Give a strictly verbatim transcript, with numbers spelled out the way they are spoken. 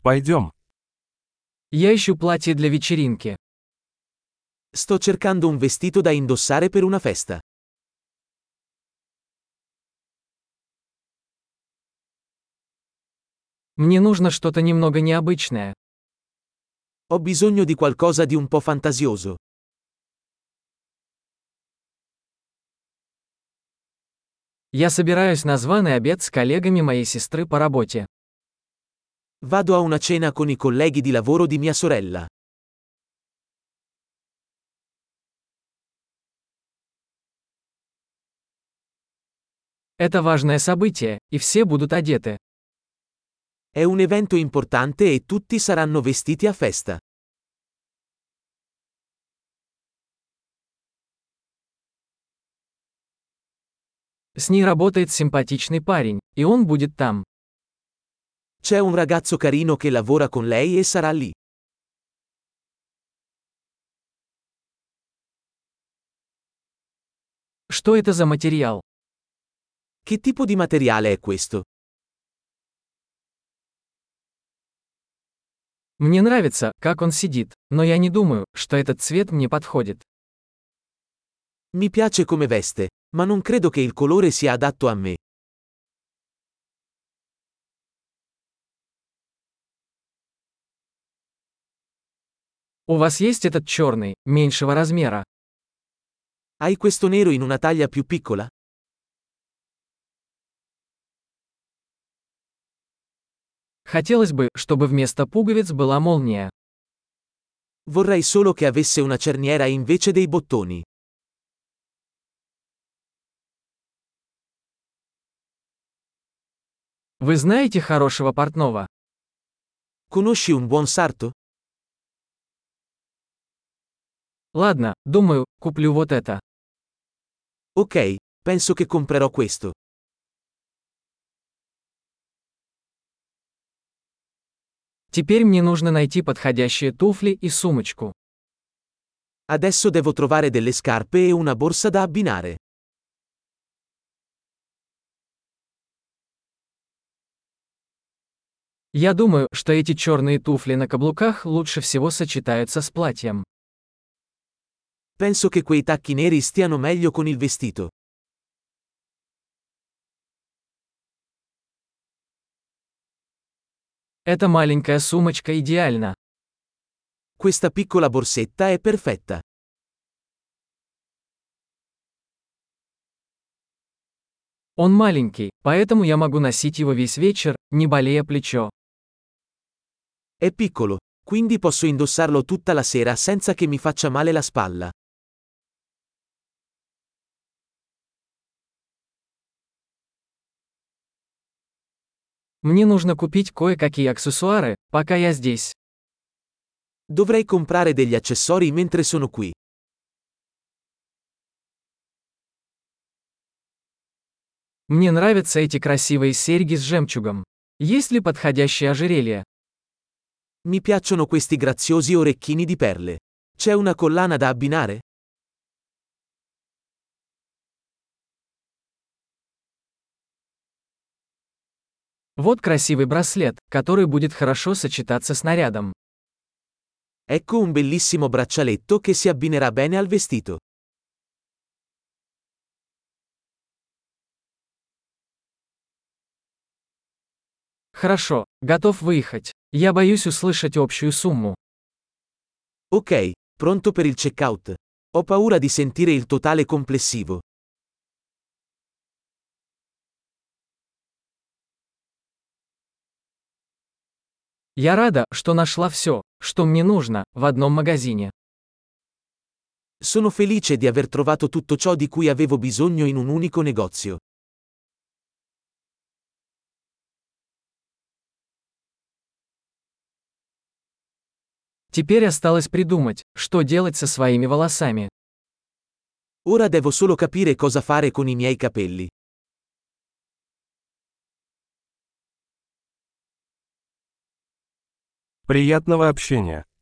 Пойдем. Я ищу платье для вечеринки. Sto cercando un vestito da indossare per una festa. Мне нужно что-то немного необычное. Ho bisogno di qualcosa di un po' fantasioso. Я собираюсь на званый обед с коллегами моей сестры по работе. Vado a una cena con i colleghi di lavoro di mia sorella. Это важное событие, и все будут одеты. È un evento importante e tutti saranno vestiti a festa. С ней работает симпатичный парень, и он будет там. C'è un ragazzo carino che lavora con lei e sarà lì. Что это за материал? Che tipo di materiale è questo? Мне нравится, как он сидит, но я не думаю, что этот цвет мне подходит. Mi piace come veste, ma non credo che il colore sia adatto a me. У вас есть этот черный, меньшего размера? Hai questo nero in una taglia più piccola? Хотелось бы, чтобы вместо пуговиц была молния. Vorrei solo che avesse una cerniera invece dei bottoni. Вы знаете хорошего портного? Conosci un buon sarto? Ладно, думаю, куплю вот это. Ok, penso che comprerò questo. Теперь мне нужно найти подходящие туфли и сумочку. Adesso devo trovare delle scarpe e una borsa da abbinare. Я думаю, что эти черные туфли на каблуках лучше всего сочетаются с платьем. Penso che quei tacchi neri stiano meglio con il vestito. Эта маленькая сумочка идеальна. Questa piccola borsetta è perfetta. Он маленький, поэтому я могу носить его весь вечер, не болея плечо. È piccolo, quindi posso indossarlo tutta la sera senza che mi faccia male la spalla. Мне нужно купить кое-какие аксессуары, пока я здесь. Dovrei comprare degli accessori mentre sono qui. Мне нравятся эти красивые серьги с жемчугом. Есть ли подходящее ожерелье? Mi piacciono questi graziosi orecchini di perle. C'è una collana da abbinare? Вот красивый браслет, который будет хорошо сочетаться с нарядом. Ecco un bellissimo braccialetto che si abbinerà bene al vestito. Хорошо, готов выехать. Я боюсь услышать общую сумму. Ok, pronto per il checkout. Ho paura di sentire il totale complessivo. Я рада, что нашла все, что мне нужно, в одном магазине. Sono felice di aver trovato tutto ciò di cui avevo bisogno in un unico negozio. Теперь осталось придумать, что делать со своими волосами. Ora devo solo capire cosa fare con i miei capelli. Приятного общения.